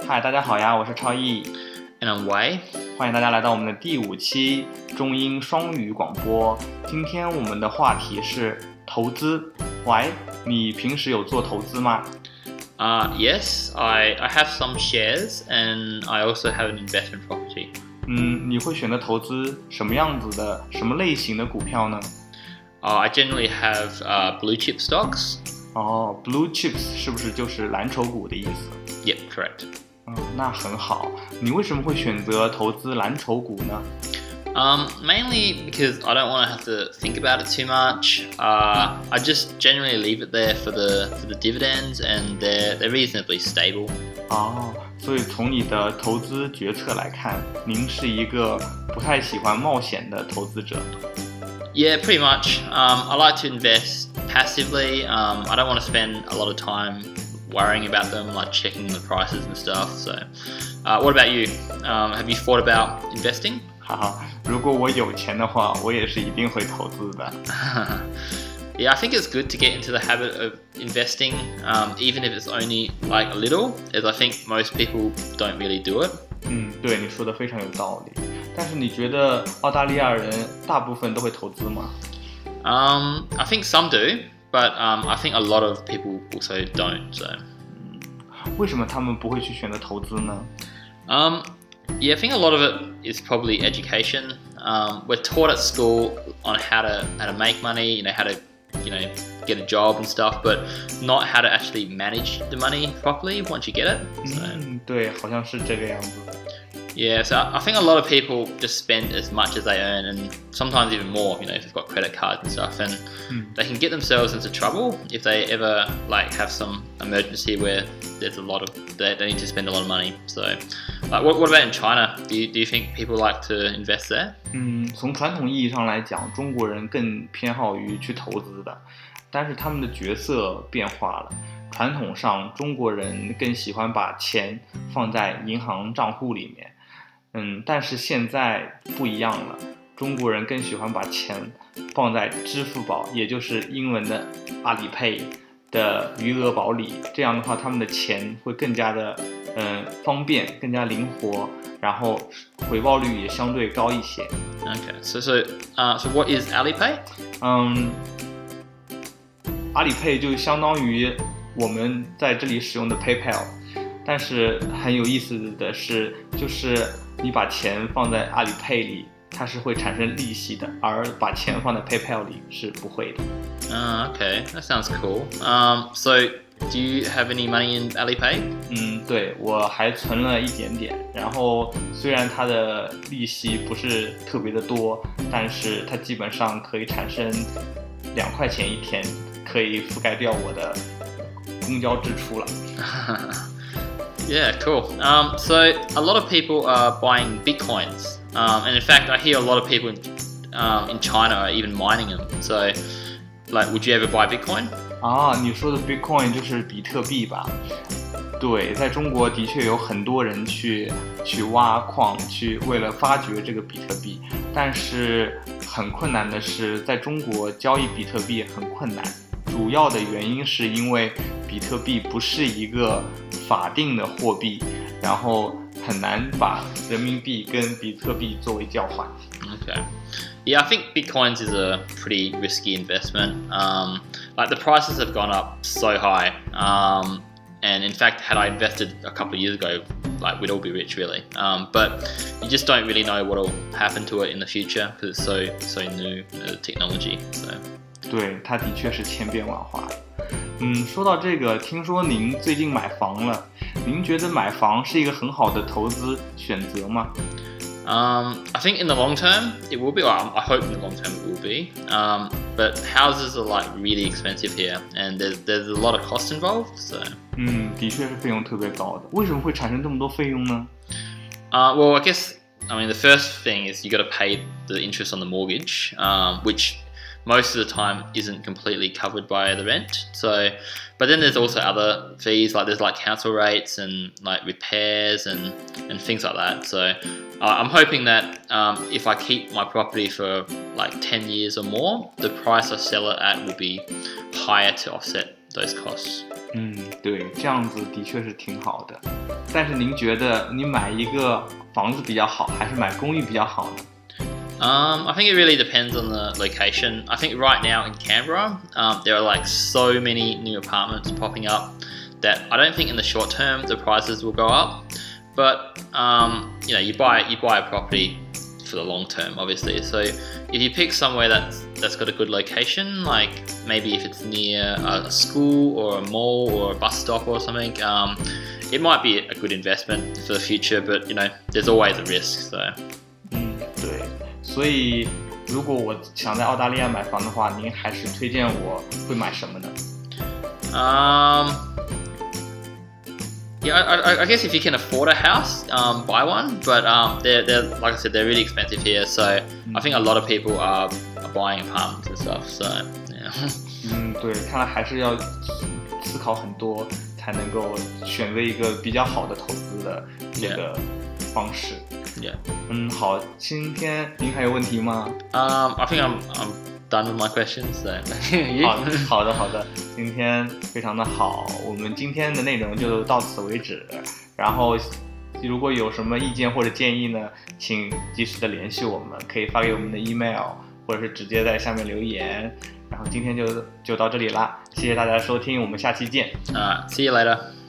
嗨，大家好呀，我是超毅， And I'm Wei. 欢迎大家来到我们的第5期中英双语广播。今天我们的话题是投资。喂，你平时有做投资吗？ Yes, I have some shares and I also have an investment property. 你会选择投资什么样子的、什么类型的股票呢？ I generally have blue chip stocks. Blue chips 是不是就是蓝筹股的意思？ Yep, correct. 那很好。你为什么会选择投资蓝筹股呢？ Mainly because I don't want to have to think about it too much. I just generally leave it there for the dividends, and they're reasonably stable. 所以从你的投资决策来看，您是一个不太喜欢冒险的投资者。 Yeah, pretty much. I like to invest passively. I don't want to spend a lot of time worrying about them, like checking the prices and stuff. So, what about you? Have you thought about investing? 哈哈，如果我有钱的话，我也是一定会投资的。 Yeah, I think it's good to get into the habit of investing, even if it's only like a little, as I think most people don't really do it. 对，你说的非常有道理。但是你觉得澳大利亚人大部分都会投资吗？ I think some do, but I think a lot of people also don't. So, 为什么他们不会去选择投资呢？ Yeah, I think a lot of it is probably education. We're taught at school on how to make money, how to get a job and stuff, but not how to actually manage the money properly once you get it. So, 对，好像是这个样子。 yeah, so I think a lot of people just spend as much as they earn, and sometimes even more. If they've got credit cards and stuff, and they can get themselves into trouble if they ever have some emergency where there's they need to spend a lot of money. So, what about in China? Do you think people like to invest there? 从传统意义上来讲，中国人更偏好于去投资的，但是他们的角色变化了。传统上，中国人更喜欢把钱放在银行账户里面。但是现在不一样了，中国人更喜欢把钱放在支付宝，也就是英文的阿里 Pay 的余额宝里。这样的话，他们的钱会更加的方便，更加灵活，然后回报率也相对高一些。 Okay, so what is Alipay? 阿里 Pay 就相当于我们在这里使用的 PayPal， 但是很有意思的是，就是你把钱放在阿里 Pay 里，它是会产生利息的，而把钱放在 PayPal 里是不会的。 Okay, that sounds cool. So do you have any money in Alipay? 对，我还存了一点点，然后虽然它的利息不是特别的多，但是它基本上可以产生2块钱一天，可以覆盖掉我的公交支出了。 Yeah, cool. So a lot of people are buying bitcoins, and in fact, I hear a lot of people in China are even mining them. So, would you ever buy Bitcoin? 你说的 Bitcoin 就是比特币吧？对，在中国的确有很多人去挖矿，为了发掘这个比特币，但是很困难的是，在中国交易比特币很困难。主要的原因是因为比特币不是一个法定的货币，然后很难把人民币跟比特币作为交换。 Okay. Yeah, I think Bitcoins is a pretty risky investment. The prices have gone up so high. And in fact, had I invested a couple of years ago, we'd all be rich, really. But you just don't really know what will happen to it in the future because it's so new, the technology. So. 对，它的确是千变万化的。说到这个，听说您最近买房了，您觉得买房是一个很好的投资选择吗？ I think in the long term it will be. Well, I hope in the long term it will be. But houses are really expensive here, and there's a lot of cost involved. So. 的确是费用特别高的。为什么会产生这么多费用呢？ Well, I mean, the first thing is you got to pay the interest on the mortgage, which most of the time isn't completely covered by the rent. So, but then there's also other fees, there's council rates and repairs and things like that. So, I'm hoping that if I keep my property for 10 years or more, the price I sell it at will be higher to offset those costs. 对，这样子的确是挺好的。但是您觉得你买一个房子比较好，还是买公寓比较好呢？ I think it really depends on the location. I think right now in Canberra, there are like so many new apartments popping up that I don't think in the short term the prices will go up. But you buy a property for the long term, obviously. So if you pick somewhere that's got a good location, like maybe if it's near a school or a mall or a bus stop or something, it might be a good investment for the future. But there's always a risk. So. 对。所以，如果我想在澳大利亚买房的话，您还是推荐我会买什么呢 ？Yeah, I guess if you can afford a house, buy one. But they're like I said, they're really expensive here. So I think a lot of people are buying apartments and stuff. So yeah. 对，看来还是要思考很多，才能够选择一个比较好的投资的这个方式。 Yeah. 好，今天您还有问题吗 ？I think I'm done with my questions. So. 好的，今天非常的好，我们今天的内容就到此为止。然后，如果有什么意见或者建议呢，请及时的联系我们，可以发给我们的 email， 或者是直接在下面留言。然后今天就到这里啦，谢谢大家的收听，我们下期见。 See you later.